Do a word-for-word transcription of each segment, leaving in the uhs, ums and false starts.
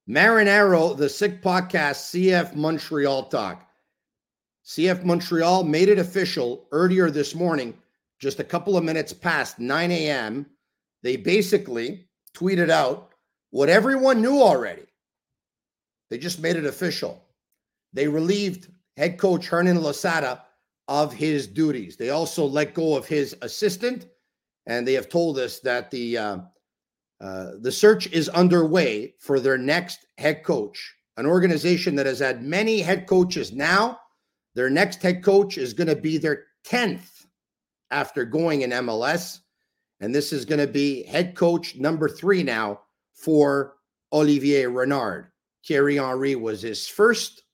Marinaro, the Sick Podcast, C F Montreal Talk. C F Montreal made it official earlier this morning, just a couple of minutes past nine a.m. They basically tweeted out what everyone knew already. They just made it official. They relieved head coach Hernan Losada of his duties. They also let go of his assistant, and they have told us that the uh, uh, the search is underway for their next head coach, an organization that has had many head coaches now. Their next head coach is going to be their tenth after going in M L S, and this is going to be head coach number three now for Olivier Renard. Thierry Henry was his first.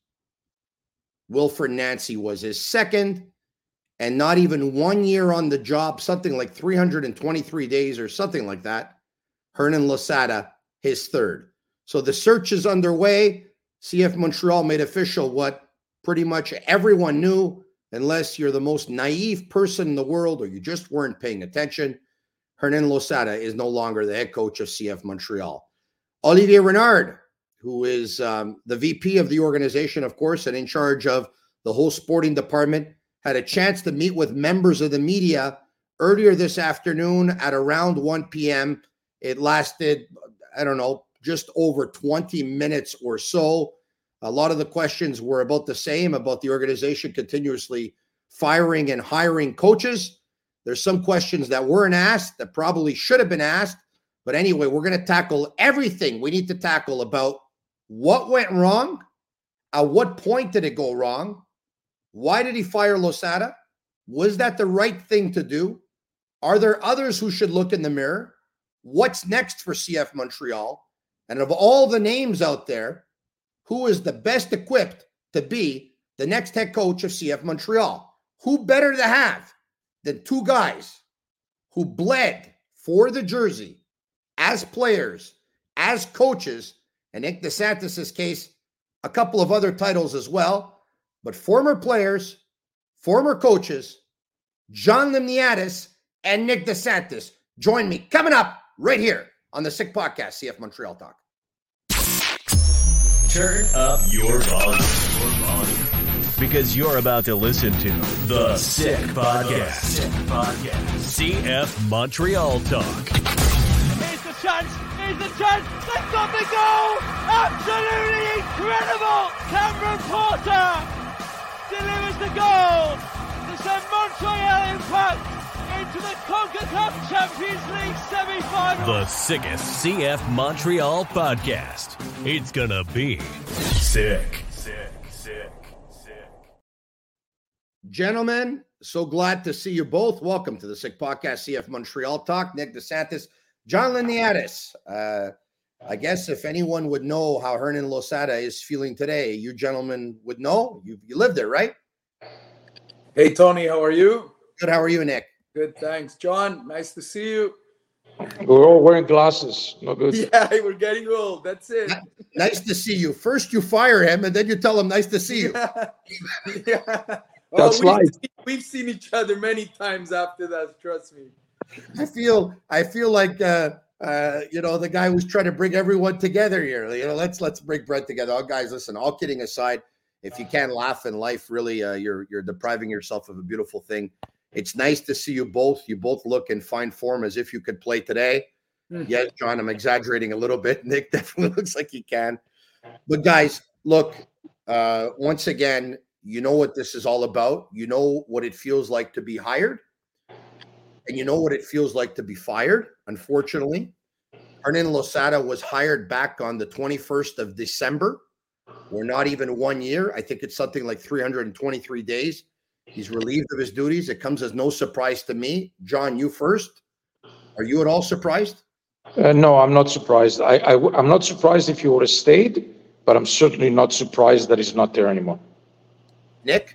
Wilfred Nancy was his second, and not even one year on the job, something like three hundred twenty-three days or something like that. Hernan Losada, his third. So the search is underway. C F Montreal made official what pretty much everyone knew, unless you're the most naive person in the world or you just weren't paying attention. Hernan Losada is no longer the head coach of C F Montreal. Olivier Renard, who is um, the V P of the organization, of course, and in charge of the whole sporting department, had a chance to meet with members of the media earlier this afternoon at around one p.m. It lasted, I don't know, just over twenty minutes or so. A lot of the questions were about the same, about the organization continuously firing and hiring coaches. There's some questions that weren't asked that probably should have been asked. But anyway, we're going to tackle everything we need to tackle about what went wrong, at what point did it go wrong, why did he fire Losada, was that the right thing to do, are there others who should look in the mirror, what's next for C F Montreal, and of all the names out there, who is the best equipped to be the next head coach of C F Montreal? Who better to have than two guys who bled for the jersey as players, as coaches, and Nick DeSantis' case, a couple of other titles as well, but former players, former coaches, John Limniadis and Nick DeSantis. Join me coming up right here on the Sick Podcast, C F Montreal Talk. Turn up your volume, your volume, because you're about to listen to the Sick Podcast. Sick Podcast. C F Montreal Talk. Here's the chance. Here's the chance. They've got the goal. Absolutely incredible. Cameron Porter delivers the goal to send Montreal Impact into the CONCACAF Champions League semi-final. The sickest C F Montreal podcast. It's gonna be sick. Sick, sick, sick. Gentlemen, so glad to see you both. Welcome to the Sick Podcast, C F Montreal Talk. Nick DeSantis, John Limniadis. Uh, I guess if anyone would know how Hernan Losada is feeling today, you gentlemen would know. You, you live there, right? Hey, Tony, how are you? Good. How are you, Nick? Good, thanks. John, nice to see you. We're all wearing glasses. No good. Yeah, we're getting old. That's it. Nice to see you. First you fire him, and then you tell him nice to see you. Yeah. Yeah. That's we've, life. seen, we've seen each other many times after that, trust me. I feel I feel like uh, uh, you know, the guy who's trying to bring everyone together here. You know, let's let's break bread together. Oh, guys, listen, all kidding aside, if you can't laugh in life, really, uh, you're you're depriving yourself of a beautiful thing. It's nice to see you both. You both look in fine form as if you could play today. Mm-hmm. Yes, John, I'm exaggerating a little bit. Nick definitely looks like he can. But guys, look, uh, once again, you know what this is all about. You know what it feels like to be hired. And you know what it feels like to be fired, unfortunately. Hernan Losada was hired back on the twenty-first of December. We're not even one year. I think it's something like three hundred twenty-three days. He's relieved of his duties. It comes as no surprise to me. John, you first. Are you at all surprised? Uh, no, I'm not surprised. I, I, I'm not surprised if he would have stayed, but I'm certainly not surprised that he's not there anymore. Nick?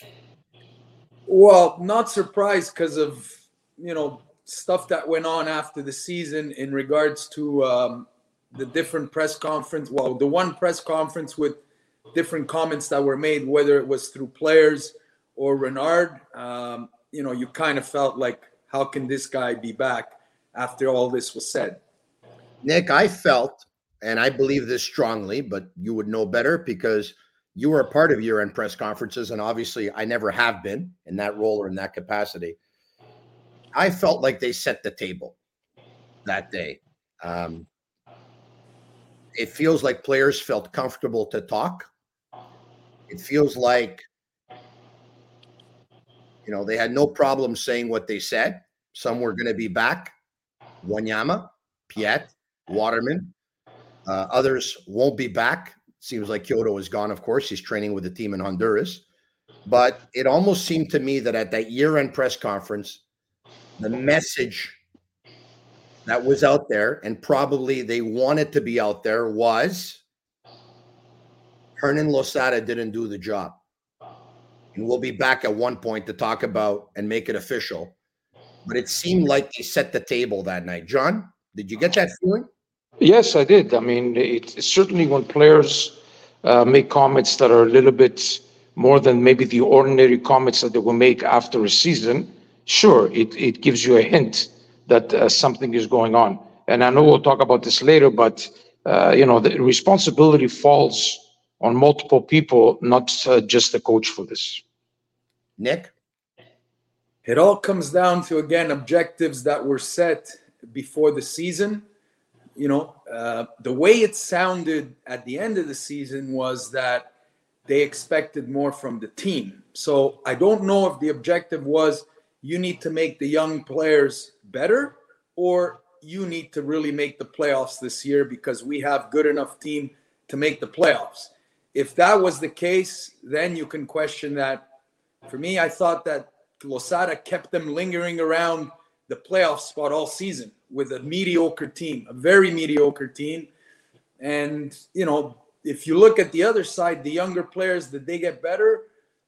Well, not surprised because of, you know, stuff that went on after the season in regards to um, the different press conference. Well, the one press conference with different comments that were made, whether it was through players or Renard, um, you know, you kind of felt like, how can this guy be back after all this was said? Nick, I felt and I believe this strongly, but you would know better because you were a part of year-end press conferences, and obviously I never have been in that role or in that capacity. I felt like they set the table that day. Um, it feels like players felt comfortable to talk. It feels like, you know, they had no problem saying what they said. Some were going to be back. Wanyama, Piet, Waterman. Uh, others won't be back. Seems like Kyoto is gone, of course. He's training with the team in Honduras. But it almost seemed to me that at that year-end press conference, the message that was out there, and probably they wanted to be out there, was Hernan Losada didn't do the job. And we'll be back at one point to talk about and make it official. But it seemed like they set the table that night. John, did you get that feeling? Yes, I did. I mean, it, certainly when players uh, make comments that are a little bit more than maybe the ordinary comments that they will make after a season, sure, it, it gives you a hint that uh, something is going on. And I know we'll talk about this later, but, uh, you know, the responsibility falls on multiple people, not uh, just the coach for this. Nick? It all comes down to, again, objectives that were set before the season. You know, uh, the way it sounded at the end of the season was that they expected more from the team. So I don't know if the objective was you need to make the young players better, or you need to really make the playoffs this year because we have good enough team to make the playoffs. If that was the case, then you can question that. For me, I thought that Losada kept them lingering around the playoff spot all season with a mediocre team, a very mediocre team. And, you know, if you look at the other side, the younger players, did they get better?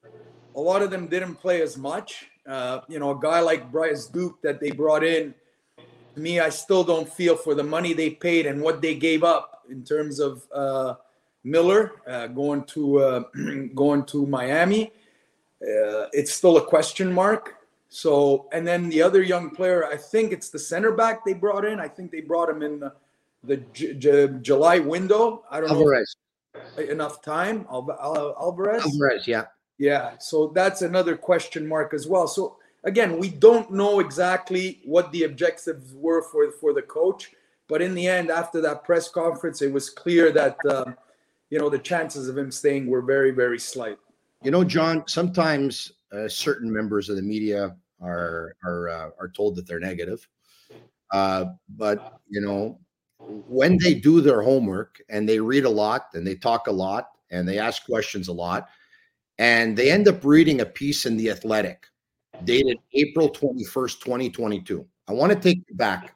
A lot of them didn't play as much. Uh, you know, a guy like Bryce Duke that they brought in, to me, I still don't feel for the money they paid and what they gave up in terms of uh, Miller uh, going to uh, going to Miami. Uh, it's still a question mark. So, and then the other young player, I think it's the center back they brought in. I think they brought him in the, the J- J- July window. I don't Alvarez. know enough time. Al- Al- Alvarez. Alvarez, yeah. Yeah. So that's another question mark as well. So again, we don't know exactly what the objectives were for, for the coach, but in the end, after that press conference, it was clear that, uh, you know, the chances of him staying were very, very slight. You know, John, sometimes uh, certain members of the media are are uh, are told that they're negative. Uh, but, you know, when they do their homework and they read a lot and they talk a lot and they ask questions a lot, and they end up reading a piece in The Athletic dated April twenty-first, twenty twenty-two. I want to take you back.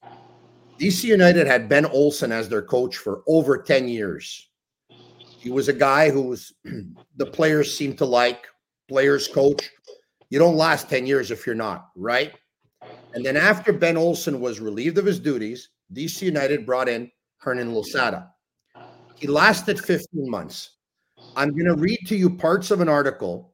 D C United had Ben Olsen as their coach for over ten years. He was a guy who was the players seemed to like, players coach. You don't last ten years if you're not, right? And then after Ben Olsen was relieved of his duties, D C United brought in Hernan Losada. He lasted fifteen months. I'm going to read to you parts of an article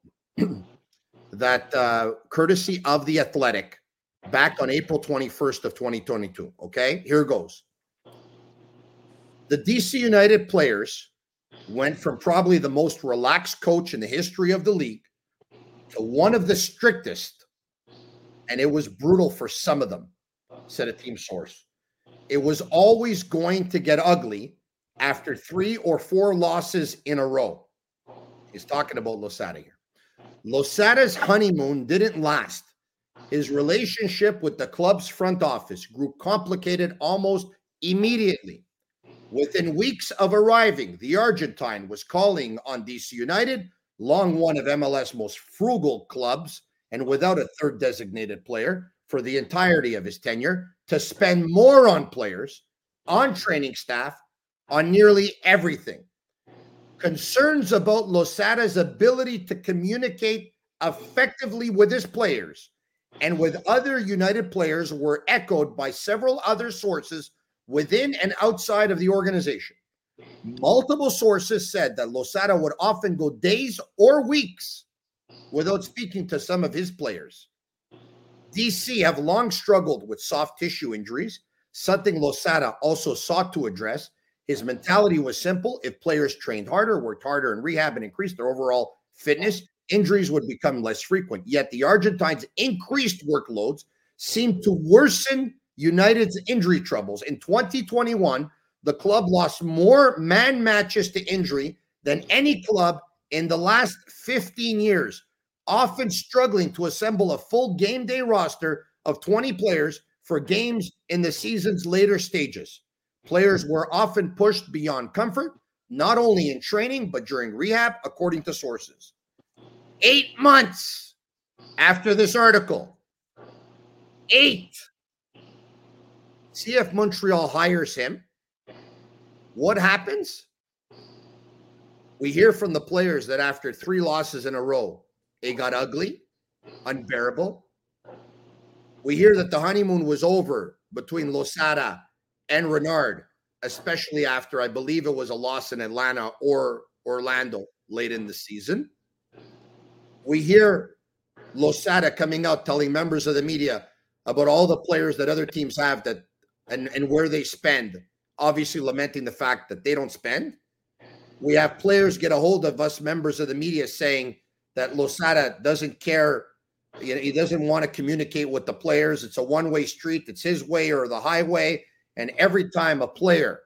that uh, courtesy of The Athletic back on April twenty-first of twenty twenty-two. Okay, here goes. The D C United players went from probably the most relaxed coach in the history of the league to one of the strictest, and it was brutal for some of them, said a team source. It was always going to get ugly after three or four losses in a row. He's talking about Losada here. Losada's honeymoon didn't last. His relationship with the club's front office grew complicated almost immediately. Within weeks of arriving, the Argentine was calling on D C United, long one of M L S most frugal clubs and without a third designated player for the entirety of his tenure, to spend more on players, on training staff, on nearly everything. Concerns about Losada's ability to communicate effectively with his players and with other United players were echoed by several other sources within and outside of the organization. Multiple sources said that Losada would often go days or weeks without speaking to some of his players. D C have long struggled with soft tissue injuries, something Losada also sought to address His mentality was simple. If players trained harder, worked harder in rehab, and increased their overall fitness, injuries would become less frequent. Yet the Argentines' increased workloads seemed to worsen United's injury troubles. In twenty twenty-one, the club lost more man matches to injury than any club in the last fifteen years, often struggling to assemble a full game day roster of twenty players for games in the season's later stages. Players were often pushed beyond comfort, not only in training, but during rehab, according to sources. Eight months after this article, eight, C F Montreal hires him. What happens? We hear from the players that after three losses in a row, it got ugly, unbearable. We hear that the honeymoon was over between Losada and Renard, especially after, I believe it was a loss in Atlanta or Orlando late in the season. We hear Losada coming out telling members of the media about all the players that other teams have that and, and where they spend, obviously lamenting the fact that they don't spend. We have players get a hold of us, members of the media, saying that Losada doesn't care. You know, he doesn't want to communicate with the players. It's a one-way street. It's his way or the highway. And every time a player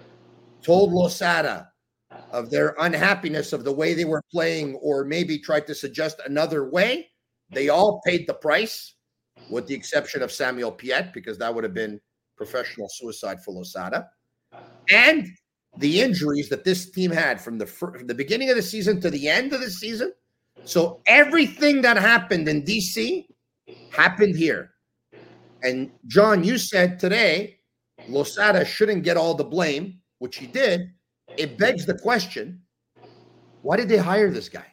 told Losada of their unhappiness of the way they were playing or maybe tried to suggest another way, they all paid the price, with the exception of Samuel Piette, because that would have been professional suicide for Losada. And the injuries that this team had from the, from the beginning of the season to the end of the season. So everything that happened in D C happened here. And John, you said today, Losada shouldn't get all the blame, which he did. It begs the question, why did they hire this guy?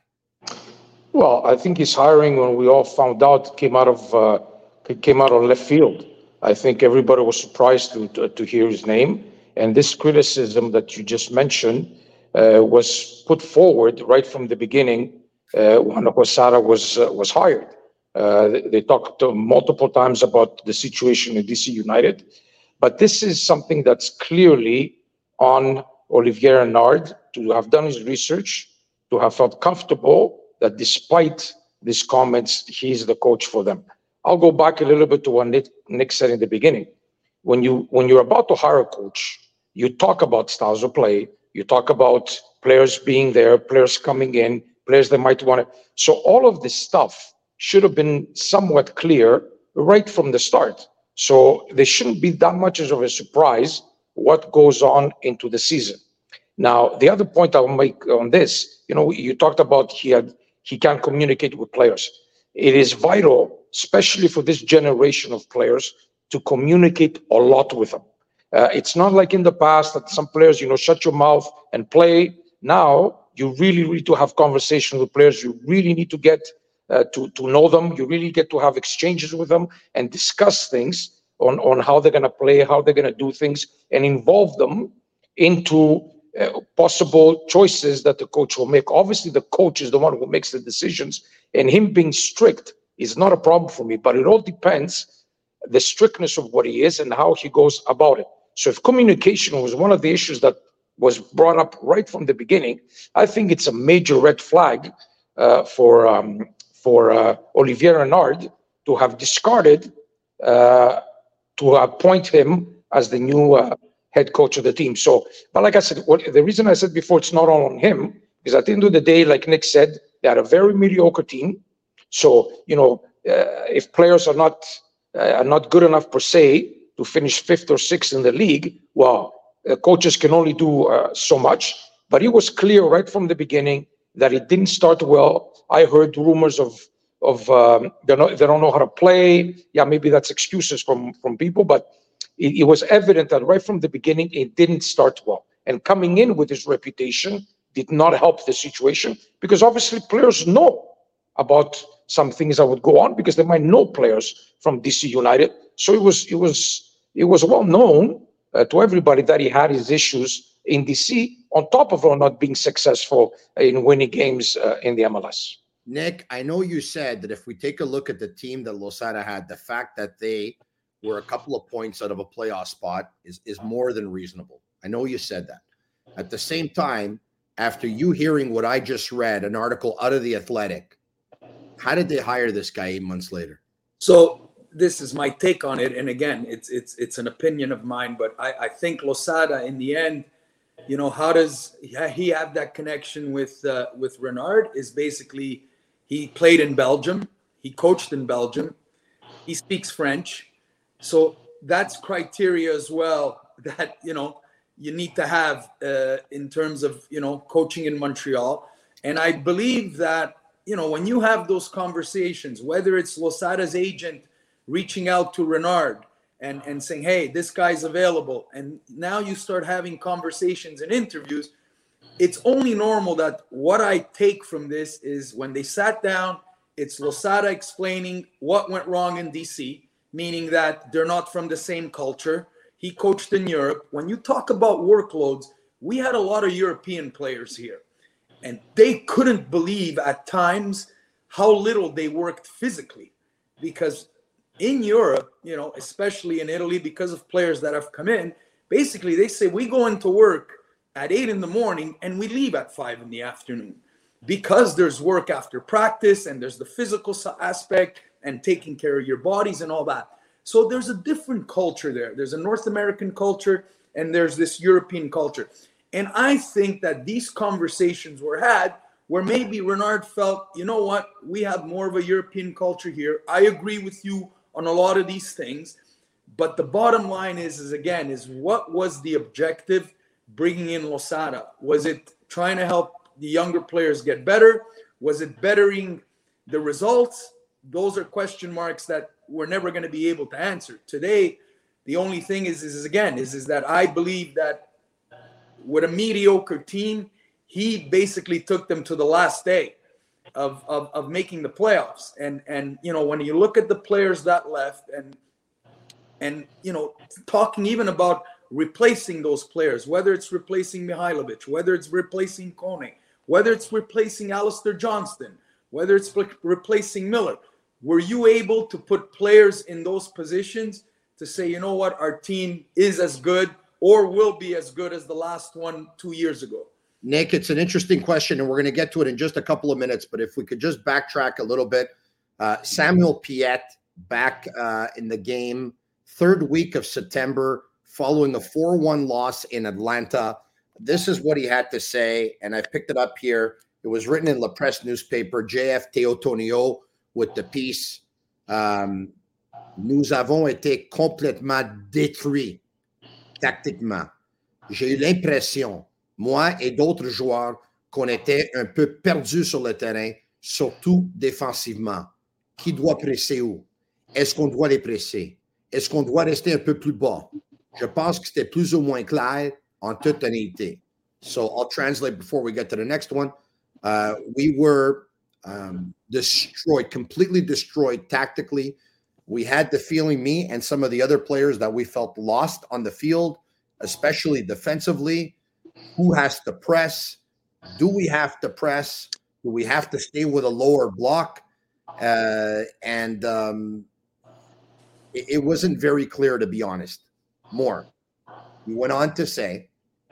Well, I think his hiring, when we all found out, came out of uh, came out of left field. I think everybody was surprised to, to, to hear his name. And this criticism that you just mentioned uh, was put forward right from the beginning uh, when Losada was uh, was hired. Uh, they, they talked uh, multiple times about the situation in D C United, but this is something that's clearly on Olivier Renard to have done his research, to have felt comfortable that despite these comments, he's the coach for them. I'll go back a little bit to what Nick, Nick said in the beginning. When you when you're about to hire a coach, you talk about styles of play, you talk about players being there, players coming in, players that might want to. So all of this stuff should have been somewhat clear right from the start. So there shouldn't be that much of a surprise what goes on into the season. Now, the other point I'll make on this, you know, you talked about he had he can't communicate with players. It is vital, especially for this generation of players, to communicate a lot with them. Uh, it's not like in the past that some players, you know, shut your mouth and play. Now, you really need to have conversations with players. You really need to get uh, to, to know them. You really get to have exchanges with them and discuss things on, on how they're going to play, how they're going to do things, and involve them into uh, possible choices that the coach will make. Obviously, the coach is the one who makes the decisions, and him being strict is not a problem for me, but it all depends the strictness of what he is and how he goes about it. So if communication was one of the issues that was brought up right from the beginning, I think it's a major red flag uh, for um, for uh, Olivier Renard to have discarded uh, to appoint him as the new uh, head coach of the team. So, but like I said, what, the reason I said before, it's not all on him, is at the end of the day, like Nick said, they had a very mediocre team. So, you know, uh, if players are not uh, are not good enough per se to finish fifth or sixth in the league, well, uh, coaches can only do uh, so much. But it was clear right from the beginning that it didn't start well. I heard rumors of of um, they don't they don't know how to play. Yeah, maybe that's excuses from from people, but it, it was evident that right from the beginning it didn't start well. And coming in with his reputation did not help the situation, because obviously players know about some things that would go on because they might know players from D C United. So it was it was it was well known uh, to everybody that he had his issues in D C, on top of not being successful in winning games uh, in the M L S. Nick, I know you said that if we take a look at the team that Losada had, the fact that they were a couple of points out of a playoff spot is, is more than reasonable. I know you said that. At the same time, after you hearing what I just read, an article out of The Athletic, how did they hire this guy eight months later? So this is my take on it. And again, it's it's it's an opinion of mine, but I, I think Losada in the end, you know, how does he have that connection with uh, with Renard is basically he played in Belgium. He coached in Belgium. He speaks French. So that's criteria as well that, you know, you need to have uh, in terms of, you know, coaching in Montreal. And I believe that, you know, when you have those conversations, whether it's Losada's agent reaching out to Renard and, and saying, hey, this guy's available, and now you start having conversations and interviews, it's only normal that what I take from this is when they sat down, it's Losada explaining what went wrong in D C, meaning that they're not from the same culture. He coached in Europe. When you talk about workloads, we had a lot of European players here, and they couldn't believe at times how little they worked physically, because in Europe, you know, especially in Italy, because of players that have come in, basically they say we go into work at eight in the morning and we leave at five in the afternoon, because there's work after practice and there's the physical aspect and taking care of your bodies and all that. So there's a different culture there. There's a North American culture and there's this European culture. And I think that these conversations were had where maybe Renard felt, you know what, we have more of a European culture here. I agree with you on a lot of these things. But the bottom line is, is again, is what was the objective bringing in Losada? Was it trying to help the younger players get better? Was it bettering the results? Those are question marks that we're never going to be able to answer. Today, the only thing is, is, is again, is, is that I believe that with a mediocre team, he basically took them to the last day of, of, of making the playoffs. And, and, you know, when you look at the players that left and, and, you know, talking even about replacing those players, whether it's replacing Mihailovic, whether it's replacing Kone, whether it's replacing Alistair Johnston, whether it's re- replacing Miller, were you able to put players in those positions to say, you know what, our team is as good or will be as good as the last one two years ago? Nick, it's an interesting question, and we're going to get to it in just a couple of minutes. But if we could just backtrack a little bit, uh, Samuel Piette back uh, in the game, third week of September, following a four one loss in Atlanta. This is what he had to say, and I've picked it up here. It was written in La Presse newspaper, J F Teotonio with the piece. Um, Nous avons été complètement détruits tactiquement. J'ai eu l'impression, moi et d'autres joueurs, qu'on était un peu perdus sur le terrain, surtout défensivement. Qui doit presser où? Est-ce qu'on doit les presser? Est-ce qu'on doit rester un peu plus bas? Je pense que c'était plus ou moins clair en toute honnêteté. So I'll translate before we get to the next one. Uh, we were um, destroyed, completely destroyed tactically. We had the feeling, me and some of the other players, that we felt lost on the field, especially defensively. Who has to press? Do we have to press? Do we have to stay with a lower block? Uh, and um, it, it wasn't very clear, to be honest. More. He went on to say,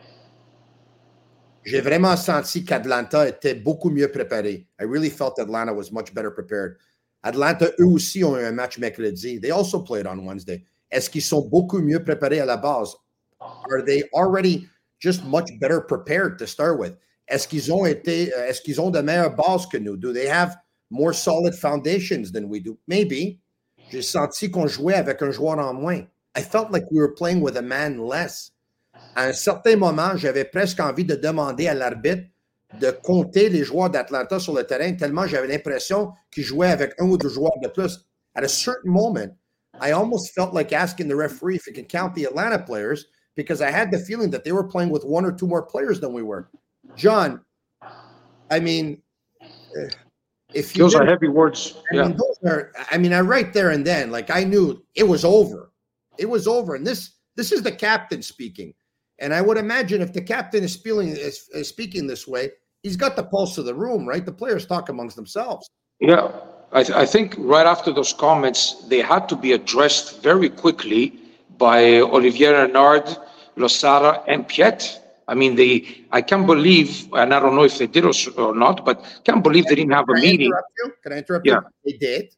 j'ai vraiment senti qu'Atlanta était beaucoup mieux préparé. I really felt Atlanta was much better prepared. Atlanta, eux aussi, ont eu un match mercredi. They also played on Wednesday. Est-ce qu'ils sont beaucoup mieux préparés à la base? Are they already just much better prepared to start with? Est-ce qu'ils ont été, est-ce qu'ils ont de meilleures bases que nous? Do they have more solid foundations than we do? Maybe. J'ai senti qu'on jouait avec un joueur en moins. I felt like we were playing with a man less. À un certain moment, j'avais presque envie de demander à l'arbitre de compter les joueurs d'Atlanta sur le terrain, tellement j'avais l'impression qu'ils jouaient avec un ou deux joueurs de plus. At a certain moment, I almost felt like asking the referee if he could count the Atlanta players, because I had the feeling that they were playing with one or two more players than we were. John, I mean, if you those are heavy words. I yeah. mean, those are, I mean, I right there and then, like, I knew it was over. It was over. And this this is the captain speaking. And I would imagine if the captain is speaking, is, is speaking this way, he's got the pulse of the room, right? The players talk amongst themselves. Yeah, I, th- I think right after those comments, they had to be addressed very quickly by Olivier Renard, Losada and Piet. I mean, they, I can't believe, and I don't know if they did or, or not, but can't believe they didn't have a Can I meeting. interrupt you? Can I interrupt Yeah. you? They did.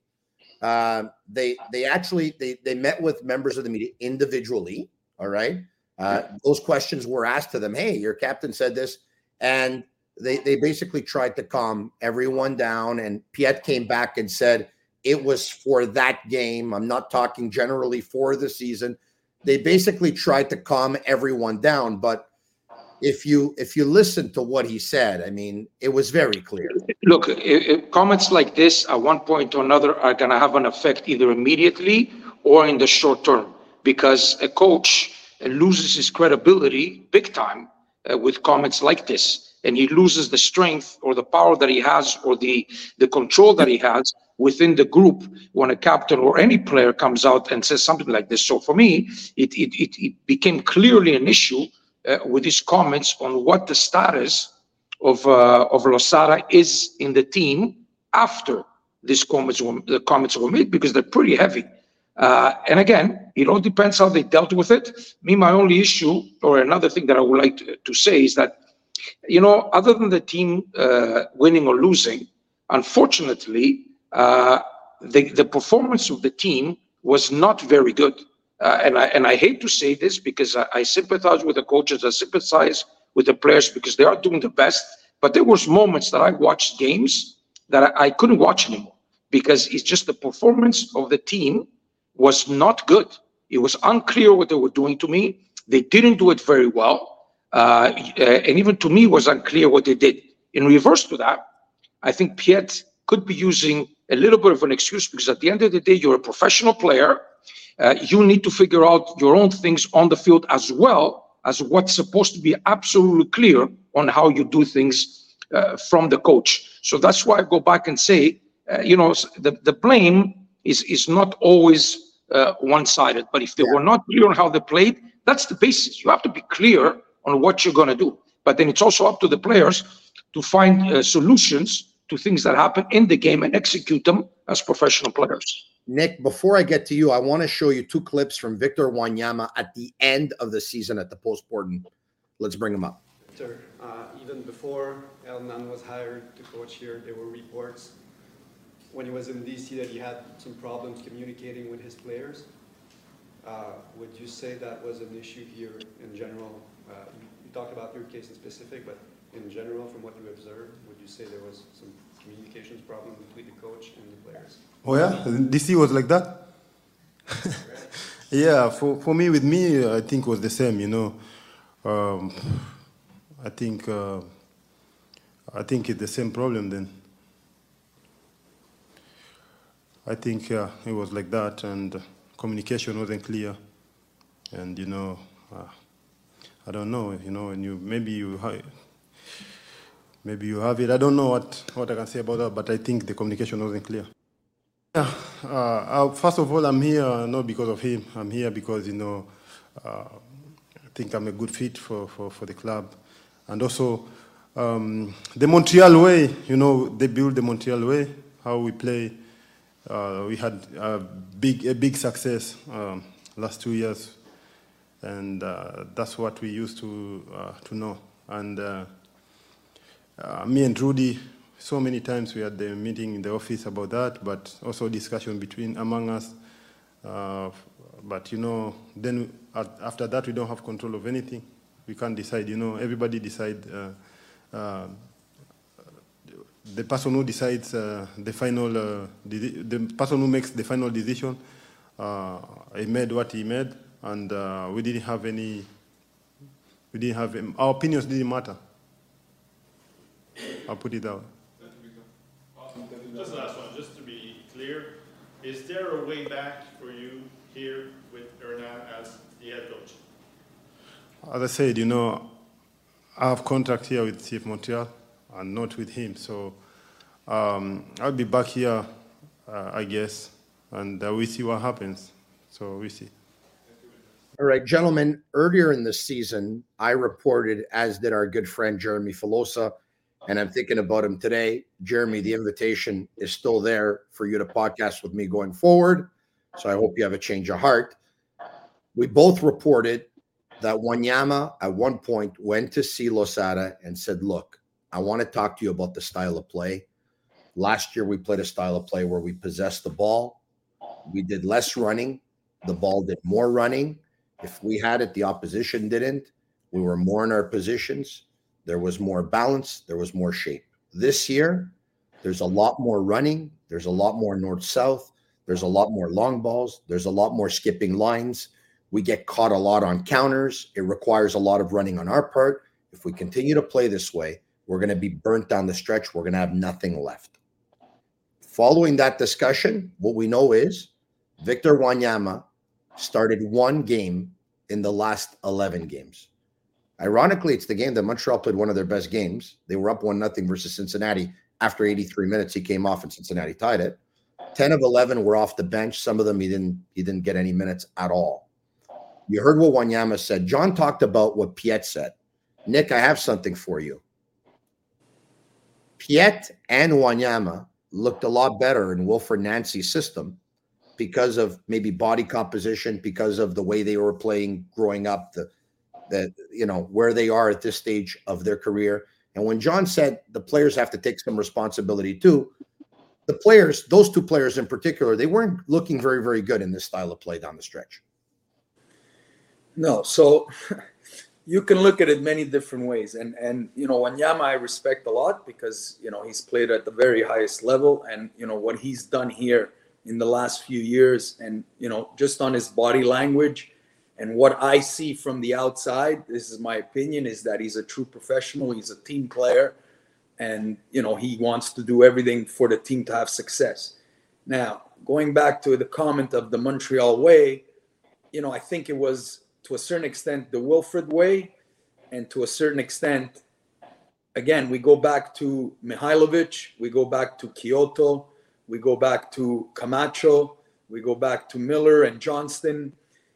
Uh, they they actually they they met with members of the media individually. All right. Uh, those questions were asked to them. Hey, your captain said this, and they they basically tried to calm everyone down. And Piet came back and said it was for that game. I'm not talking generally for the season. They basically tried to calm everyone down, but if you if you listen to what he said, I mean, it was very clear. Look, it, it, comments like this at one point or another are going to have an effect either immediately or in the short term, because a coach loses his credibility big time uh, with comments like this, and he loses the strength or the power that he has or the the control that he has within the group when a captain or any player comes out and says something like this. So for me, it it it, it became clearly an issue uh, with his comments on what the status of uh, of Losada is in the team after these comments were, the comments were made, because they're pretty heavy. Uh, and again, it all depends how they dealt with it. Me, my only issue, or another thing that I would like to, to say is that, you know, other than the team uh, winning or losing, unfortunately, uh, the, the performance of the team was not very good. Uh, and I and I hate to say this, because I, I sympathize with the coaches, I sympathize with the players, because they are doing the best. But there was moments that I watched games that I, I couldn't watch anymore, because it's just the performance of the team was not good. It was unclear what they were doing to me. They didn't do it very well. Uh, and even to me, it was unclear what they did. In reverse to that, I think Piet could be using a little bit of an excuse, because at the end of the day, you're a professional player. Uh, you need to figure out your own things on the field, as well as what's supposed to be absolutely clear on how you do things uh, from the coach. So that's why I go back and say, uh, you know, the, the blame is, is not always uh, one-sided. But if they yeah. were not clear on how they played, that's the basis. You have to be clear on what you're going to do. But then it's also up to the players to find uh, solutions to things that happen in the game and execute them as professional players. Nick, before I get to you, I want to show you two clips from Victor Wanyama at the end of the season at the Postpartum. Let's bring them up. Victor, uh, even before Hernan was hired to coach here, there were reports when he was in D C that he had some problems communicating with his players. Uh, would you say that was an issue here in general? Uh, you, you talked about your case in specific, but in general, from what you observed, would you say there was some communications problem between the coach and the players? Oh yeah, D C was like that. Yeah, for, for me, with me, I think it was the same. You know, um, I think uh, I think it's the same problem then. I think uh, it was like that, and communication wasn't clear, and you know, uh, I don't know. You know, and you maybe you have, maybe you have it. I don't know what what I can say about that, but I think the communication wasn't clear. Yeah, uh, uh, first of all, I'm here not because of him. I'm here because, you know, uh, I think I'm a good fit for, for, for the club. And also, um, the Montreal way, you know, they build the Montreal way, how we play. Uh, we had a big, a big success um, last two years. And uh, that's what we used to, uh, to know. And uh, uh, me and Rudy, so many times we had the meeting in the office about that, but also discussion between among us. Uh, but you know, then after that, we don't have control of anything. We can't decide. You know, everybody decide. Uh, uh, the person who decides uh, the final, uh, the person who makes the final decision, uh, he made what he made, and uh, we didn't have any. We didn't have our opinions didn't matter. I'll put it that way. Just the last one, just to be clear, is there a way back for you here with Hernan as the head coach? As I said, you know, I have contract here with C F Montreal and not with him. So um, I'll be back here, uh, I guess, and uh, we see what happens. So we see. All right, gentlemen, earlier in the season, I reported, as did our good friend Jeremy Filosa, and I'm thinking about him today. Jeremy, the invitation is still there for you to podcast with me going forward. So I hope you have a change of heart. We both reported that Wanyama at one point went to see Losada and said, look, I want to talk to you about the style of play. Last year, we played a style of play where we possessed the ball. We did less running. The ball did more running. If we had it, the opposition didn't. We were more in our positions. There was more balance. There was more shape. This year, there's a lot more running. There's a lot more north-south. There's a lot more long balls. There's a lot more skipping lines. We get caught a lot on counters. It requires a lot of running on our part. If we continue to play this way, we're going to be burnt down the stretch. We're going to have nothing left. Following that discussion, what we know is Victor Wanyama started one game in the last eleven games. Ironically, it's the game that Montreal played one of their best games. They were up one nothing versus Cincinnati. After eighty-three minutes, he came off and Cincinnati tied it. ten of eleven were off the bench. Some of them he didn't he didn't get any minutes at all. You heard what Wanyama said. John talked about what Piet said. Nick, I have something for you. Piet and Wanyama looked a lot better in Wilfred Nancy's system because of maybe body composition, because of the way they were playing growing up, the, the you know, where they are at this stage of their career. And when John said the players have to take some responsibility too, the players, those two players in particular, they weren't looking very, very good in this style of play down the stretch. No, so you can look at it many different ways. And, and you know, Wanyama I respect a lot because, you know, he's played at the very highest level. And, you know, what he's done here in the last few years and, you know, just on his body language and what I see from the outside, this is my opinion, is that he's a true professional. He's a team player. And, you know, he wants to do everything for the team to have success. Now, going back to the comment of the Montreal way, you know, I think it was, to a certain extent, the Wilfred way, and to a certain extent, again, we go back to Mihailovic, we go back to Kyoto, we go back to Camacho, we go back to Miller and Johnston,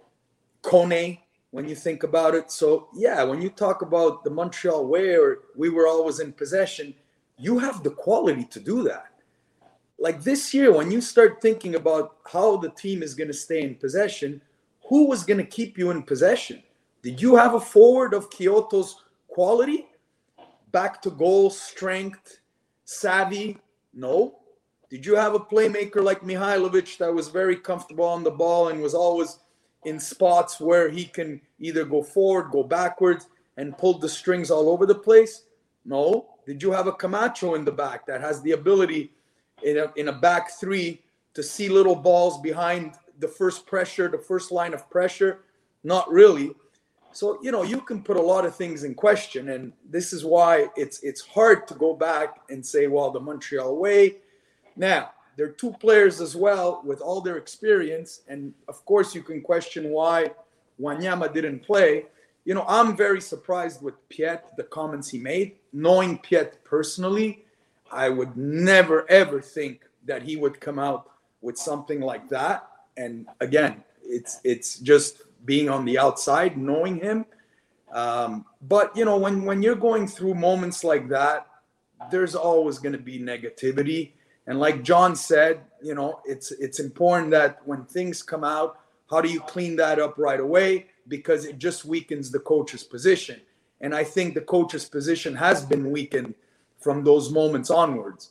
Kone, when you think about it. So, yeah, when you talk about the Montreal way or we were always in possession, you have the quality to do that. Like this year, when you start thinking about how the team is going to stay in possession, who was going to keep you in possession? Did you have a forward of Kyoto's quality? Back to goal, strength, savvy? No. Did you have a playmaker like Mihailovic that was very comfortable on the ball and was always in spots where he can either go forward, go backwards, and pull the strings all over the place? No. Did you have a Camacho in the back that has the ability in a, in a back three to see little balls behind the first pressure, the first line of pressure? Not really. So, you know, you can put a lot of things in question. And this is why it's it's hard to go back and say, well, the Montreal way. Now, there are two players as well with all their experience. And, of course, you can question why Wanyama didn't play. You know, I'm very surprised with Piet, the comments he made. Knowing Piet personally, I would never, ever think that he would come out with something like that. And again, it's it's just being on the outside, knowing him. Um, but, you know, when, when you're going through moments like that, there's always going to be negativity. And like John said, you know, it's it's important that when things come out, how do you clean that up right away? Because it just weakens the coach's position. And I think the coach's position has been weakened from those moments onwards.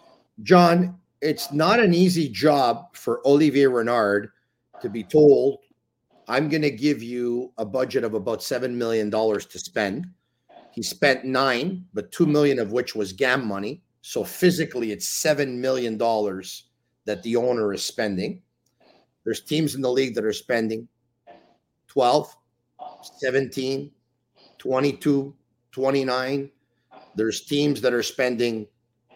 John, it's not an easy job for Olivier Renard to be told, I'm going to give you a budget of about seven million dollars to spend. He spent nine, but two million dollars of which was G A M money. So physically, it's seven million dollars that the owner is spending. There's teams in the league that are spending twelve, seventeen, twenty-two, twenty-nine. There's teams that are spending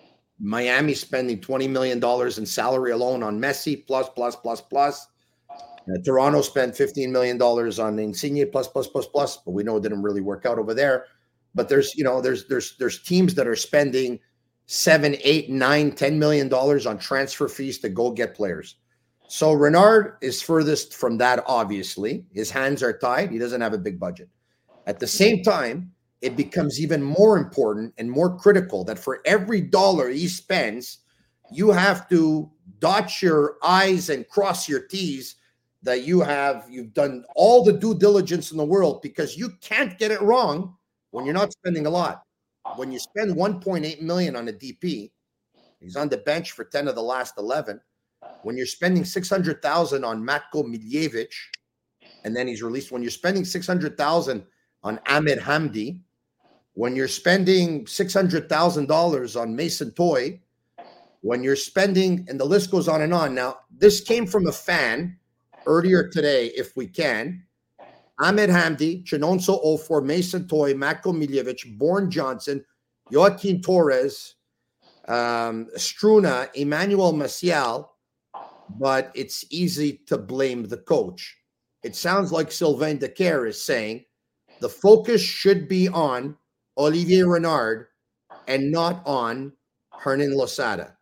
Miami spending twenty million dollars in salary alone on Messi, plus, plus, plus, plus. Uh, Toronto spent fifteen million dollars on Insigne, plus, plus, plus, plus. But we know it didn't really work out over there. But there's, you know, there's there's there's teams that are spending seven, eight, nine, ten million dollars on transfer fees to go get players. So Renard is furthest from that, obviously. His hands are tied. He doesn't have a big budget. At the same time, it becomes even more important and more critical that for every dollar he spends, you have to dot your I's and cross your T's that you have, you've done all the due diligence in the world, because you can't get it wrong when you're not spending a lot. When you spend one point eight million on a D P, he's on the bench for ten of the last eleven. When you're spending six hundred thousand on Matko Miljevic, and then he's released, when you're spending six hundred thousand on Ahmed Hamdi, when you're spending six hundred thousand dollars on Mason Toye, when you're spending, and the list goes on and on. Now, this came from a fan earlier today, if we can. Ahmed Hamdi, Chinonso Ofor, Mason Toye, Matko Miljevic, Bourne Johnson, Joaquin Torres, um, Struna, Emmanuel Maciel, but it's easy to blame the coach. It sounds like Sylvain Decker is saying the focus should be on Olivier Renard and not on Hernan Losada.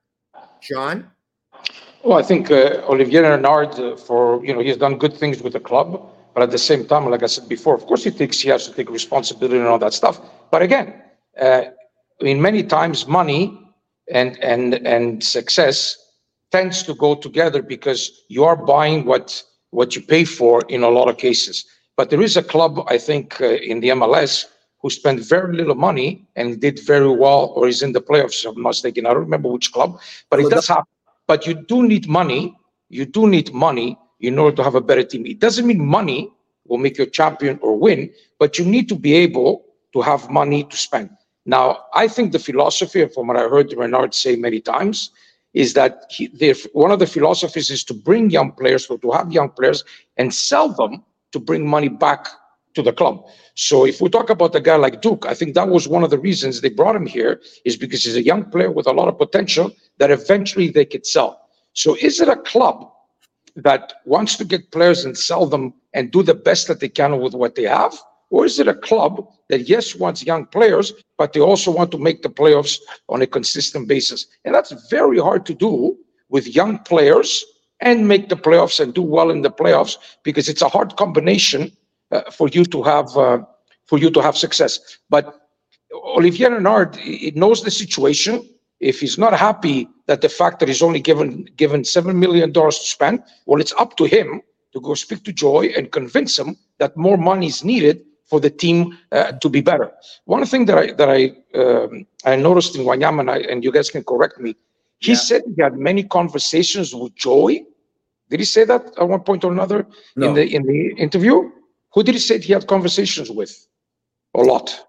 John? Well, I think uh, Olivier Renard, uh, for, you know, he's done good things with the club, but at the same time, like I said before, of course he thinks he has to take responsibility and all that stuff. But again, uh, I mean, many times money and and and success tends to go together, because you are buying what what you pay for in a lot of cases. But there is a club, I think, uh, in the M L S who spent very little money and did very well, or is in the playoffs, if I'm not mistaken. I don't remember which club, but it does happen. But you do need money. You do need money in order to have a better team. It doesn't mean money will make you a champion or win, but you need to be able to have money to spend. Now, I think the philosophy, from what I heard Renard say many times, is that he, one of the philosophies is to bring young players, or to have young players and sell them to bring money back to the club. So if we talk about a guy like Duke, I think that was one of the reasons they brought him here, is because he's a young player with a lot of potential that eventually they could sell. So is it a club that wants to get players and sell them and do the best that they can with what they have? Or is it a club that, yes, wants young players, but they also want to make the playoffs on a consistent basis? And that's very hard to do with young players and make the playoffs and do well in the playoffs, because it's a hard combination uh, for you to have uh, for you to have success. But Olivier Renard, he knows the situation. If he's not happy that the fact that he's only given given seven million dollars to spend, well, it's up to him to go speak to Joy and convince him that more money is needed for the team uh, to be better. One thing that I that I um, I noticed in Wanyama, and, I, and you guys can correct me, he yeah. said he had many conversations with Joy. Did he say that at one point or another no. in the in the interview? Who did he say he had conversations with? A lot.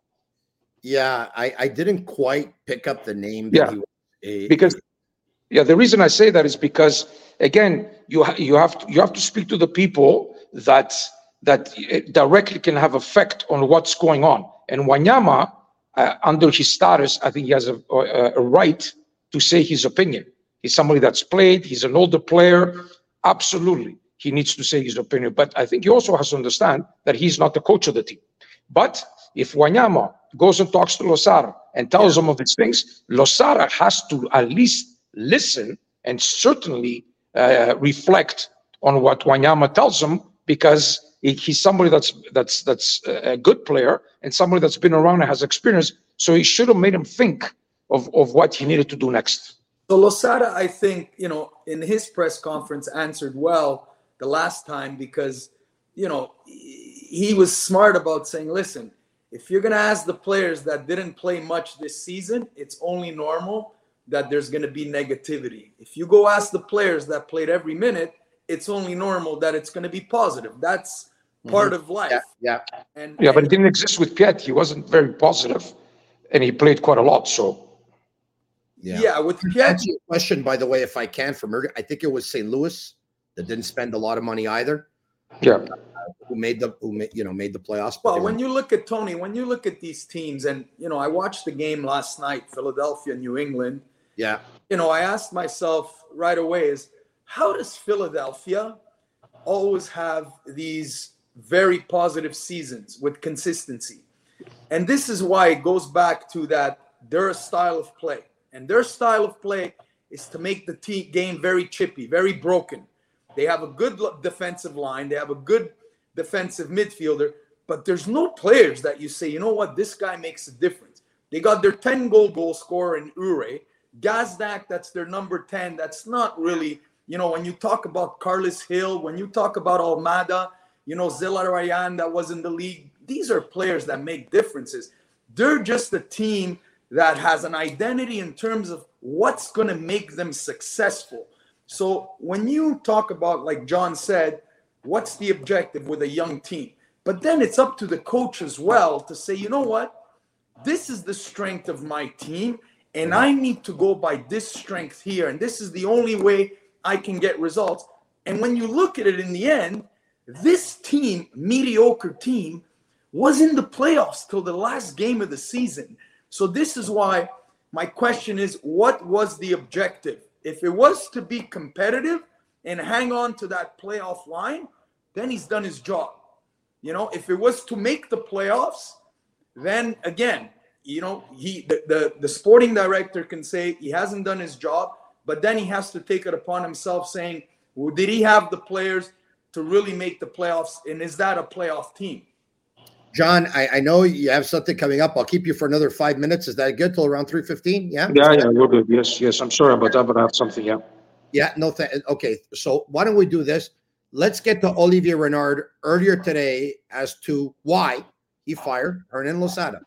Yeah, I, I didn't quite pick up the name. That yeah, he was a, because yeah, the reason I say that is because, again, you ha- you have to, you have to speak to the people that that directly can have effect on what's going on. And Wanyama, uh, under his status, I think he has a, a, a right to say his opinion. He's somebody that's played. He's an older player. Absolutely, he needs to say his opinion. But I think he also has to understand that he's not the coach of the team. But if Wanyama goes and talks to Losada and tells yeah. him of these things, Losada has to at least listen and certainly uh, reflect on what Wanyama tells him, because he's somebody that's that's that's a good player and somebody that's been around and has experience. So he should have made him think of, of what he needed to do next. So Losada, I think, you know, in his press conference answered well the last time, because, you know, he was smart about saying, listen, if you're going to ask the players that didn't play much this season, it's only normal that there's going to be negativity. If you go ask the players that played every minute, it's only normal that it's going to be positive. That's part mm-hmm. of life. Yeah, yeah. And, yeah, and, but it didn't exist with Piet. He wasn't very positive, and he played quite a lot. So, yeah, yeah with Piet. That's your question, by the way, if I can, from I think it was Saint Louis that didn't spend a lot of money either. Yeah, uh, who made the who made, you know made the playoffs. Well, when you look at Tony, when you look at these teams, and you know, I watched the game last night, Philadelphia, New England. Yeah, you know, I asked myself right away is, how does Philadelphia always have these very positive seasons with consistency? And this is why it goes back to that their style of play. And their style of play is to make the team game very chippy, very broken. They have a good defensive line. They have a good defensive midfielder. But there's no players that you say, you know what, this guy makes a difference. They got their ten-goal goal scorer in Ure. Gazdak, that's their number ten. That's not really, You know, when you talk about Carlos Hill, when you talk about Almada, you know, Zelarayan that was in the league, these are players that make differences. They're just a team that has an identity in terms of what's going to make them successful. So when you talk about, like John said, what's the objective with a young team? But then it's up to the coach as well to say, you know what? This is the strength of my team, and I need to go by this strength here. And this is the only way I can get results. And when you look at it in the end, this team, mediocre team, was in the playoffs till the last game of the season. So this is why my question is, what was the objective? If it was to be competitive and hang on to that playoff line, then he's done his job. You know, if it was to make the playoffs, then again, you know, he the, the, the sporting director can say he hasn't done his job, but then he has to take it upon himself saying, well, did he have the players to really make the playoffs? And is that a playoff team? John, I, I know you have something coming up. I'll keep you for another five minutes. Is that good till around three fifteen? Yeah? Yeah, yeah, we're good. Yes, yes. I'm sorry about that, but I have something, yeah. Yeah, no, th- okay. So why don't we do this? Let's get to Olivier Renard earlier today as to why he fired Hernan Losada.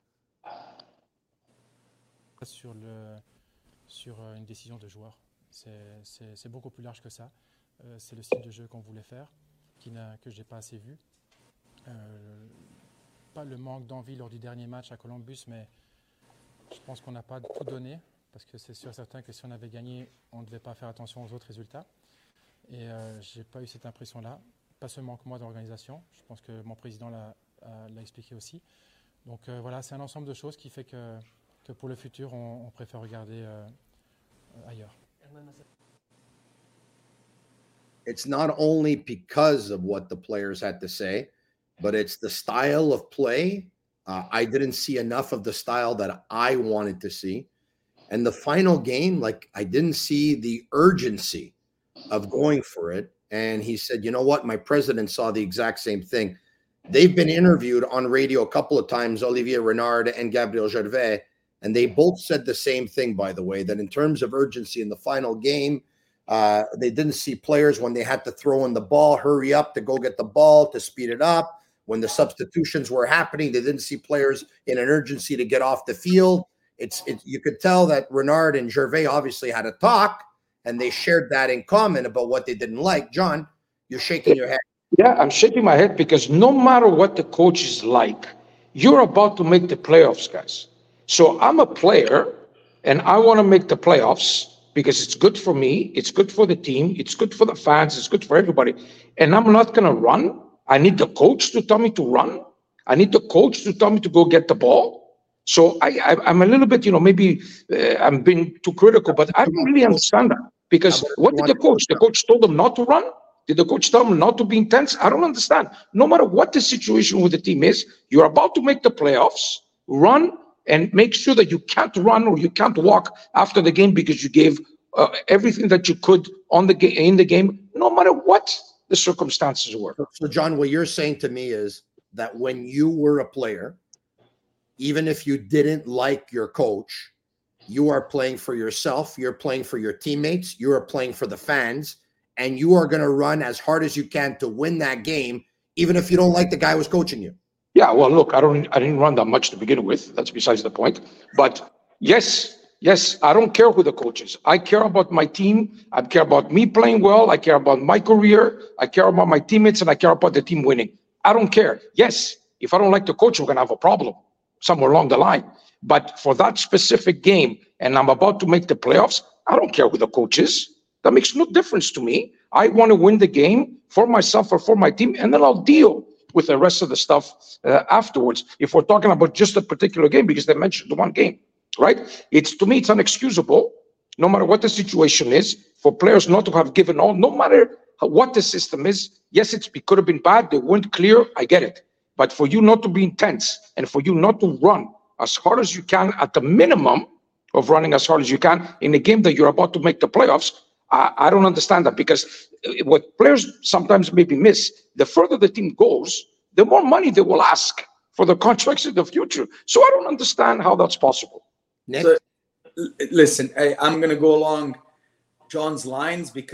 Sur, le, sur une décision de joueur. C'est, c'est, c'est beaucoup plus large que ça. Euh, c'est le style de jeu qu'on voulait faire, qui n'a, que je n'ai pas assez vu. Euh, pas le manque d'envie lors du dernier match à Columbus, mais je pense qu'on n'a pas tout donné, parce que c'est sûr et certain que si on avait gagné, on ne devait pas faire attention aux autres résultats. Et euh, je n'ai pas eu cette impression-là, pas seulement que moi d'organisation, je pense que mon président l'a, l'a expliqué aussi. Donc euh, voilà, c'est un ensemble de choses qui fait que, que pour le futur, on, on préfère regarder euh, ailleurs. It's not only because of what the players had to say, but it's the style of play. Uh, I didn't see enough of the style that I wanted to see. And the final game, like, I didn't see the urgency of going for it. And he said, you know what? My president saw the exact same thing. They've been interviewed on radio a couple of times, Olivier Renard and Gabriel Gervais, and they both said the same thing, by the way, that in terms of urgency in the final game, uh, they didn't see players when they had to throw in the ball, hurry up to go get the ball, to speed it up. When the substitutions were happening, they didn't see players in an urgency to get off the field. It's it, you could tell that Renard and Gervais obviously had a talk, and they shared that in common about what they didn't like. John, you're shaking your head. Yeah, I'm shaking my head because no matter what the coach is like, you're about to make the playoffs, guys. So I'm a player, and I want to make the playoffs because it's good for me, it's good for the team, it's good for the fans, it's good for everybody. And I'm not going to run. I need the coach to tell me to run. I need the coach to tell me to go get the ball. So I, I, I'm a little bit, you know, maybe uh, I'm being too critical, but I don't really understand that. Because what did the coach? The coach told them not to run? Did the coach tell them not to be intense? I don't understand. No matter what the situation with the team is, you're about to make the playoffs, run and make sure that you can't run or you can't walk after the game because you gave uh, everything that you could on the ga- in the game, no matter what the circumstances were. So, John, what you're saying to me is that when you were a player, even if you didn't like your coach, you are playing for yourself, you're playing for your teammates, you are playing for the fans, and you are going to run as hard as you can to win that game, even if you don't like the guy who was coaching you. Yeah, well, look, I don't, I didn't run that much to begin with. That's besides the point. But yes, yes, I don't care who the coach is. I care about my team. I care about me playing well. I care about my career. I care about my teammates, and I care about the team winning. I don't care. Yes, if I don't like the coach, we're going to have a problem somewhere along the line. But for that specific game, and I'm about to make the playoffs, I don't care who the coach is. That makes no difference to me. I want to win the game for myself or for my team, and then I'll deal with the rest of the stuff uh, afterwards. If we're talking about just a particular game, because they mentioned the one game, right? It's, to me, it's unexcusable, no matter what the situation is, for players not to have given all, no matter what the system is. Yes, it's, it could have been bad. They weren't clear. I get it. But for you not to be intense and for you not to run as hard as you can at the minimum of running as hard as you can in a game that you're about to make the playoffs, I, I don't understand that, because what players sometimes maybe miss, the further the team goes, the more money they will ask for the contracts in the future. So I don't understand how that's possible. So, listen, I, I'm going to go along John's lines, because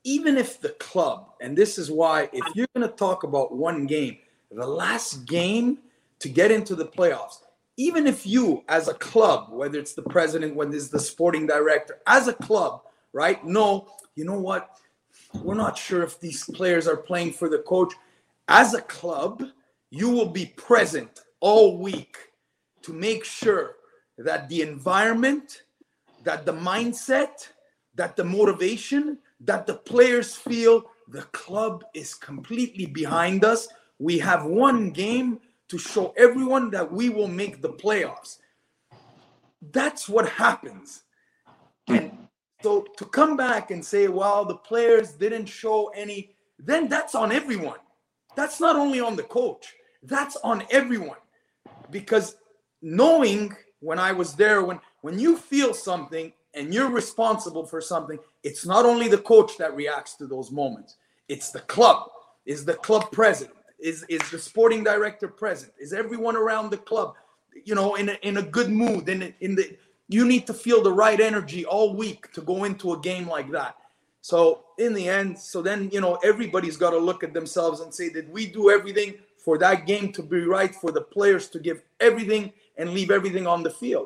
even if the club, and this is why, if you're going to talk about one game, the last game to get into the playoffs, even if you as a club, whether it's the president, whether it's the sporting director, as a club, right, no, you know what, we're not sure if these players are playing for the coach. As a club, you will be present all week to make sure that the environment, that the mindset, that the motivation, that the players feel the club is completely behind us. We have one game to show everyone that we will make the playoffs. That's what happens. And so to come back and say, well, the players didn't show any, then that's on everyone. That's not only on the coach. That's on everyone. Because knowing when I was there, when, when you feel something and you're responsible for something, it's not only the coach that reacts to those moments. It's the club. Is the club president? Is, is the sporting director present? Is everyone around the club, you know, in a, in a good mood? In, in the, you need to feel the right energy all week to go into a game like that. So in the end, so then, you know, everybody's got to look at themselves and say, did we do everything for that game to be right, for the players to give everything and leave everything on the field?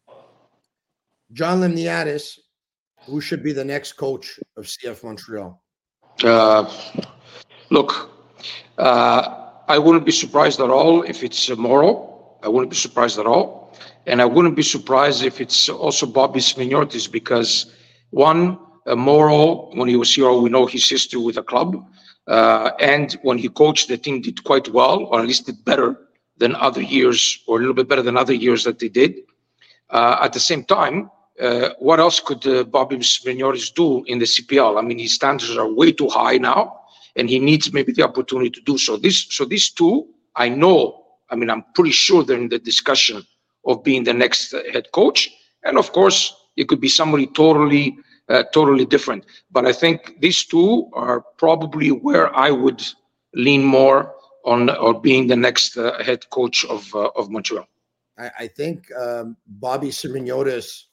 John Limniadis, who should be the next coach of C F Montreal? Uh, look, uh, I wouldn't be surprised at all if it's uh, Morrow. I wouldn't be surprised at all. And I wouldn't be surprised if it's also Bobby Smignortis, because one, uh, Morrow, when he was here, we know his history with the club. Uh, and when he coached, the team did quite well, or at least did better than other years, or a little bit better than other years that they did. Uh, at the same time, uh, what else could uh, Bobby Smignortis do in the C P L? I mean, his standards are way too high now, and he needs maybe the opportunity to do so. This, so these two, I know, I mean, I'm pretty sure they're in the discussion of being the next uh, head coach. And of course, it could be somebody totally, uh, totally different. But I think these two are probably where I would lean more on, or being the next uh, head coach of uh, of Montreal. I, I think um, Bobby Smignortis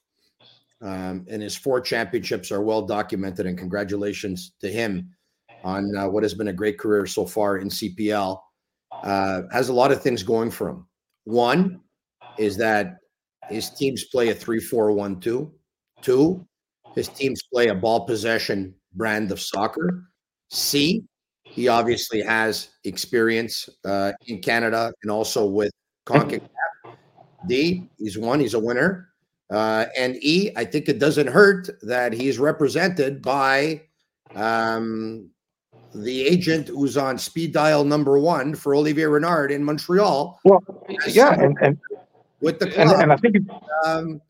um, and his four championships are well documented, and congratulations to him on uh, what has been a great career so far in C P L. Uh, has a lot of things going for him. One is that his teams play a three four one two. Two, his teams play a ball possession brand of soccer. C, he obviously has experience uh, in Canada and also with CONCACAF. D, he's won, he's a winner. Uh, and E, I think it doesn't hurt that he's represented by um, the agent who's on speed dial number one for Olivier Renard in Montreal. Well, yeah, and, and with the club. And, and I think it, um,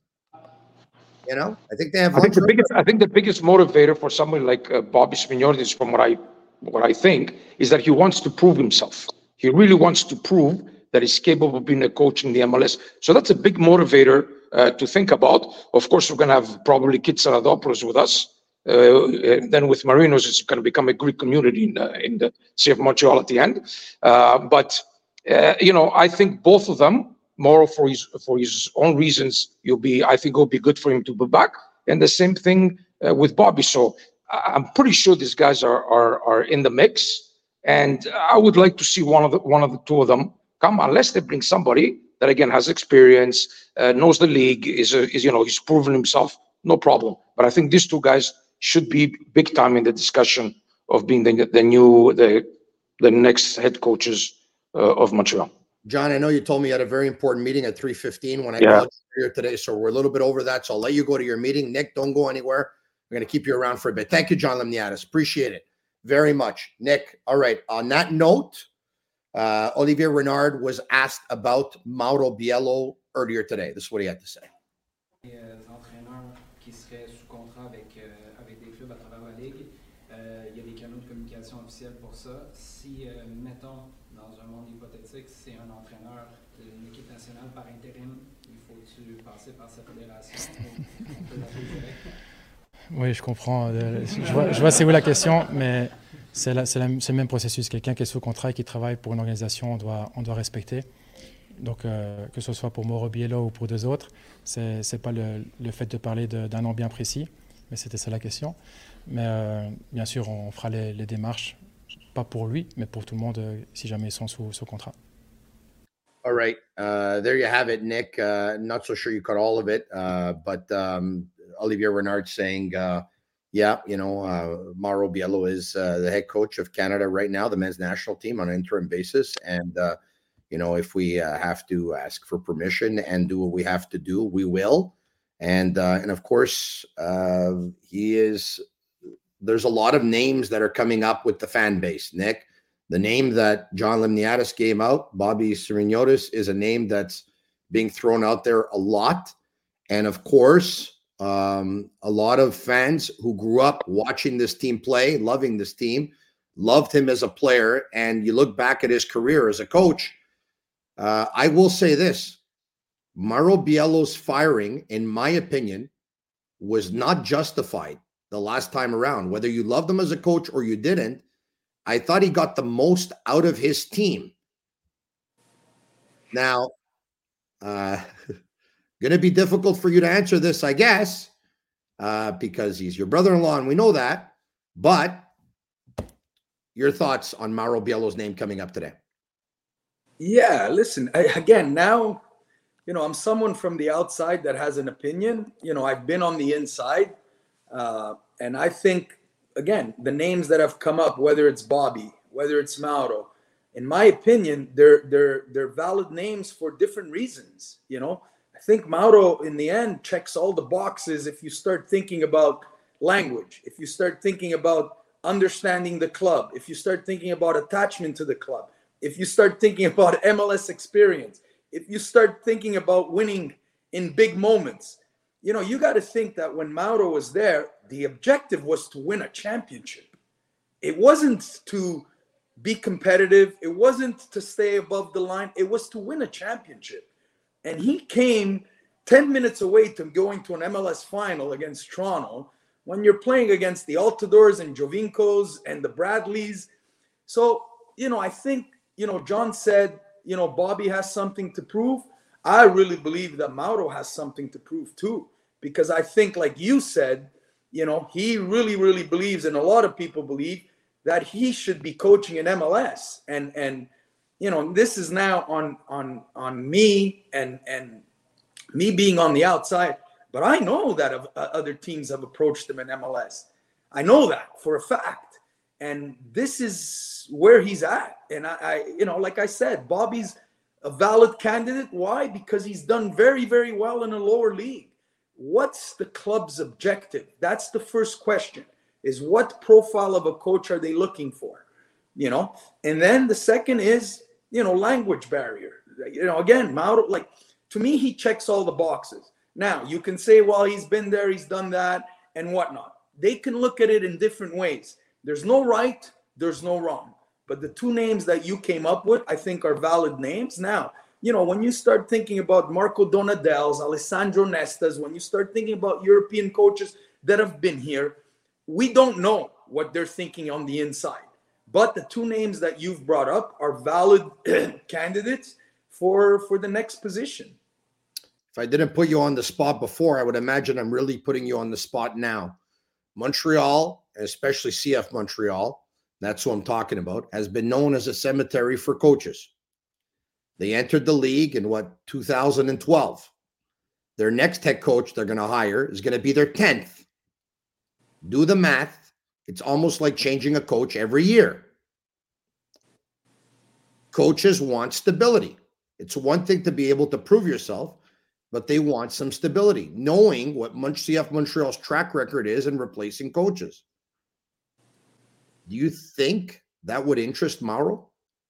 you know, I think they have. I think the biggest, I think the biggest motivator for somebody like uh, Bobby Smignortis, from what I, what I think, is that he wants to prove himself. He really wants to prove that he's capable of being a coach in the M L S. So that's a big motivator uh, to think about. Of course, we're going to have probably Kit Saradopoulos with us. Uh, and then with Marinos, it's going to become a Greek community in, uh, in the C F Montreal at the end. Uh, but, uh, you know, I think both of them, Morrow for his for his own reasons, you'll be, I think it'll be good for him to be back. And the same thing uh, with Bobby. So I'm pretty sure these guys are, are, are in the mix. And I would like to see one of the, one of the two of them come, unless they bring somebody that, again, has experience, uh, knows the league, is, a, is, you know, he's proven himself, no problem. But I think these two guys should be big time in the discussion of being the, the new, the, the next head coaches uh, of Montreal. John, I know you told me you had a very important meeting at three fifteen when I yeah. called you here today, so we're a little bit over that. So I'll let you go to your meeting. Nick, don't go anywhere. We're going to keep you around for a bit. Thank you, John Limniadis. Appreciate it very much. Nick, all right. On that note, uh, Olivier Renard was asked about Mauro Biello earlier today. This is what he had to say. Les entraîneurs qui seraient sous contrat avec, euh, avec des clubs à travers la Ligue, euh, il y a des canaux de communication officiels pour ça. Si, euh, mettons, dans un monde hypothétique, c'est un entraîneur d'une équipe nationale par intérim, il faut-tu passer par cette fédération? On peut l'appeler direct. Oui, je comprends. Euh, je vois, je vois c'est où la question, mais c'est, la, c'est, la, c'est le même processus. Quelqu'un qui est sous contrat et qui travaille pour une organisation, on doit, on doit respecter. Donc, euh, que ce soit pour Mauro Biello ou pour deux autres, ce n'est pas le, le fait de parler de, d'un nom bien précis. mais c'était ça la question. Mais euh, bien sûr, on fera les, les démarches, pas pour lui, mais pour tout le monde, euh, si jamais ils sont sous, sous contrat. All right. Uh, there you have it, Nick. Uh, not so sure you caught all of it, uh, but um, Olivier Renard saying, uh, yeah, you know, uh, Mauro Biello is uh, the head coach of Canada right now, the men's national team on an interim basis. And, uh, you know, if we uh, have to ask for permission and do what we have to do, we will. And, uh, and of course, uh, he is, there's a lot of names that are coming up with the fan base, Nick. The name that John Limniadis gave out, Bobby Sirignotis, is a name that's being thrown out there a lot. And of course, um, a lot of fans who grew up watching this team play, loving this team, loved him as a player. And you look back at his career as a coach, uh, I will say this. Mauro Biello's firing, in my opinion, was not justified the last time around. Whether you loved him as a coach or you didn't, I thought he got the most out of his team. Now, uh, going to be difficult for you to answer this, I guess, uh, because he's your brother-in-law, and we know that. But your thoughts on Mauro Biello's name coming up today? Yeah, listen, I, again, now, you know, I'm someone from the outside that has an opinion. You know, I've been on the inside, uh, and I think, again, the names that have come up, whether it's Bobby, whether it's Mauro, in my opinion, they're they're they're valid names for different reasons. You know, I think Mauro, in the end, checks all the boxes if you start thinking about language, if you start thinking about understanding the club, if you start thinking about attachment to the club, if you start thinking about M L S experience, if you start thinking about winning in big moments. You know, you got to think that when Mauro was there, the objective was to win a championship. It wasn't to be competitive. It wasn't to stay above the line. It was to win a championship. And he came ten minutes away to going to an M L S final against Toronto when you're playing against the Altadors and Jovinkos and the Bradleys. So, you know, I think, you know, John said, you know, Bobby has something to prove. I really believe that Mauro has something to prove too, because I think, like you said, you know, he really, really believes, and a lot of people believe, that he should be coaching in M L S. And, and you know, this is now on on on me and, and me being on the outside. But I know that uh, other teams have approached him in M L S. I know that for a fact. And this is where he's at. And, I, I you know, like I said, Bobby's a valid candidate. Why? Because he's done very, very well in a lower league. What's the club's objective? That's the first question, is what profile of a coach are they looking for? You know, and then the second is, you know, language barrier. You know, again, Mauro, like, to me, he checks all the boxes. Now, you can say, well, he's been there, he's done that, and whatnot. They can look at it in different ways. There's no right, there's no wrong. But the two names that you came up with, I think, are valid names. Now, you know, when you start thinking about Marco Donadels, Alessandro Nestas, when you start thinking about European coaches that have been here, we don't know what they're thinking on the inside. But the two names that you've brought up are valid candidates for, for the next position. If I didn't put you on the spot before, I would imagine I'm really putting you on the spot now. Montreal, especially C F Montreal, that's who I'm talking about, has been known as a cemetery for coaches. They entered the league in, what, two thousand twelve. Their next head coach they're going to hire is going to be their tenth. Do the math. It's almost like changing a coach every year. Coaches want stability. It's one thing to be able to prove yourself, but they want some stability, knowing what C F Montreal's track record is in replacing coaches. Do you think that would interest Mauro?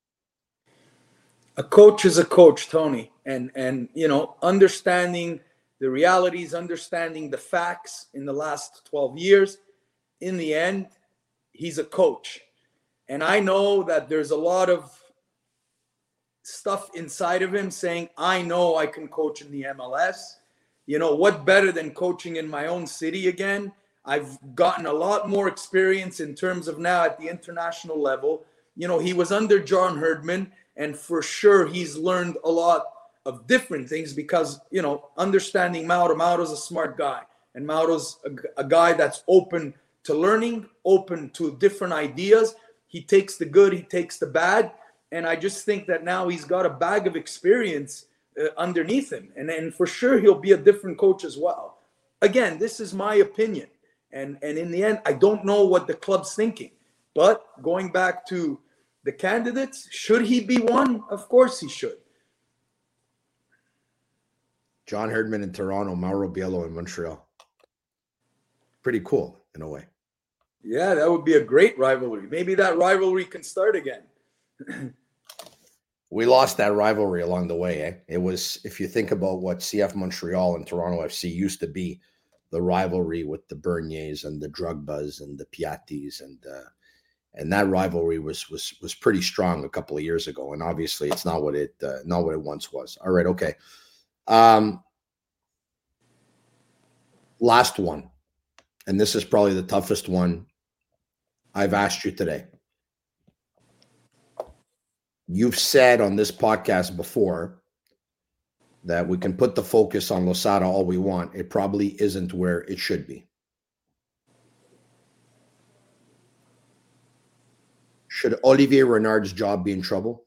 A coach is a coach, Tony. And, and you know, understanding the realities, understanding the facts in the last twelve years, in the end, he's a coach. And I know that there's a lot of stuff inside of him saying, I know I can coach in the M L S. You know, what better than coaching in my own city again? I've gotten a lot more experience in terms of now at the international level. You know, he was under John Herdman, and for sure he's learned a lot of different things because, you know, understanding Mauro, Mauro's a smart guy. And Mauro's a, a guy that's open to learning, open to different ideas. He takes the good, he takes the bad. And I just think that now he's got a bag of experience uh, underneath him. And, and for sure, he'll be a different coach as well. Again, this is my opinion. And, and in the end, I don't know what the club's thinking. But going back to the candidates, should he be one? Of course he should. John Herdman in Toronto, Mauro Biello in Montreal. Pretty cool in a way. Yeah, that would be a great rivalry. Maybe that rivalry can start again. We lost that rivalry along the way. Eh? It was, if you think about what C F Montreal and Toronto F C used to be, the rivalry with the Berniers and the Drugbas and the Piattis, and uh, and that rivalry was was was pretty strong a couple of years ago. And obviously, it's not what it uh, not what it once was. All right, okay. Um, last one, and this is probably the toughest one I've asked you today. You've said on this podcast before that we can put the focus on Losada all we want. It probably isn't where it should be. Should Olivier Renard's job be in trouble?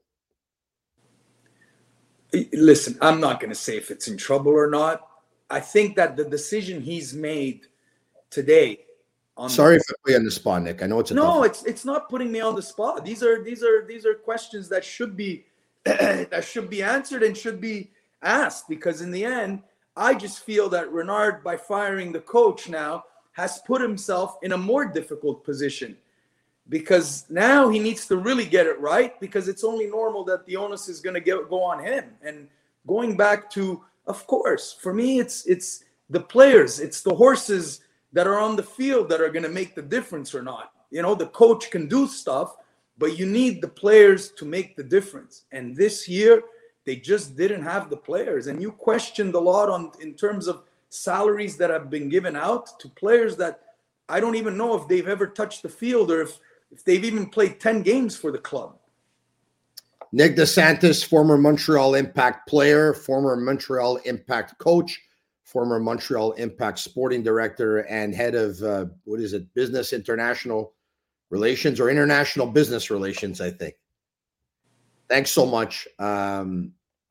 Listen, I'm not going to say if it's in trouble or not. I think that the decision he's made today. On Sorry the, if I put you on the spot, Nick. I know it's a no. tough It's it's not putting me on the spot. These are these are these are questions that should be that should be answered and should be asked, because in the end, I just feel that Renard, by firing the coach now, has put himself in a more difficult position, because now he needs to really get it right, because it's only normal that the onus is going to go on him. And going back to, of course, for me, it's it's the players, it's the horses that are on the field that are going to make the difference or not. You know, the coach can do stuff, but you need the players to make the difference. And this year, they just didn't have the players. And you questioned a lot on in terms of salaries that have been given out to players that I don't even know if they've ever touched the field, or if, if they've even played ten games for the club. Nick DeSantis, former Montreal Impact player, former Montreal Impact coach, former Montreal Impact sporting director, and head of, uh, what is it, business international relations or international business relations, I think. Thanks so much. Um,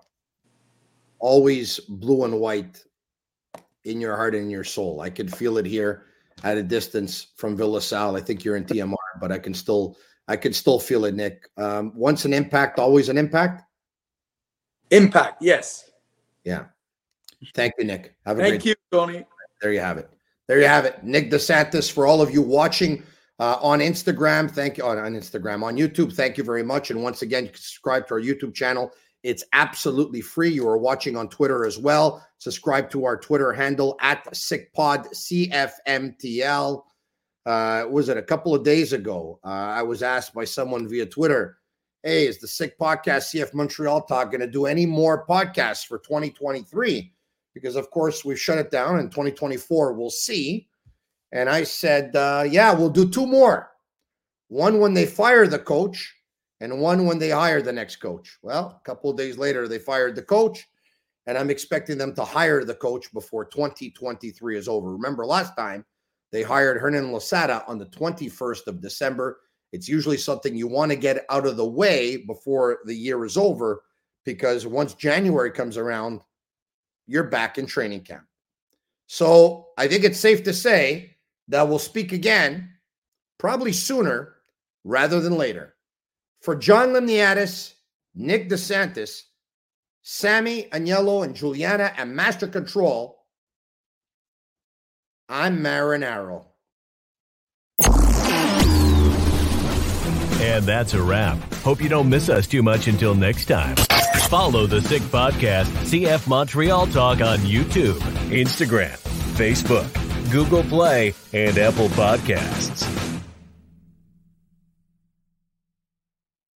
always blue and white in your heart and in your soul. I can feel it here at a distance from Villa Sal. I think you're in T M R, but I can still, I can still feel it, Nick. Um, once an impact, always an impact? Impact, yes. Yeah. Thank you, Nick. Have a Thank great you, Tony. There you have it. There you have it. Nick DeSantis, for all of you watching uh, on Instagram, thank you. On, on Instagram, on YouTube, thank you very much. And once again, you can subscribe to our YouTube channel. It's absolutely free. You are watching on Twitter as well. Subscribe to our Twitter handle at SickPod, C F M T L. Uh, was it a couple of days ago? Uh, I was asked by someone via Twitter, hey, is the Sick Podcast C F Montreal Talk going to do any more podcasts for twenty twenty-three? Because, of course, we've shut it down in twenty twenty-four. We'll see. And I said, uh, yeah, we'll do two more. One when they fire the coach, and one when they hire the next coach. Well, a couple of days later, they fired the coach, and I'm expecting them to hire the coach before twenty twenty-three is over. Remember, last time they hired Hernan Losada on the twenty-first of December. It's usually something you want to get out of the way before the year is over, because once January comes around, you're back in training camp. So I think it's safe to say that we'll speak again, probably sooner rather than later. For John Limniadis, Nick DeSantis, Sammy Agnello, and Juliana at Master Control, I'm Marinaro. And that's a wrap. Hope you don't miss us too much until next time. Follow the Sick Podcast, C F Montreal Talk on YouTube, Instagram, Facebook, Google Play, and Apple Podcasts.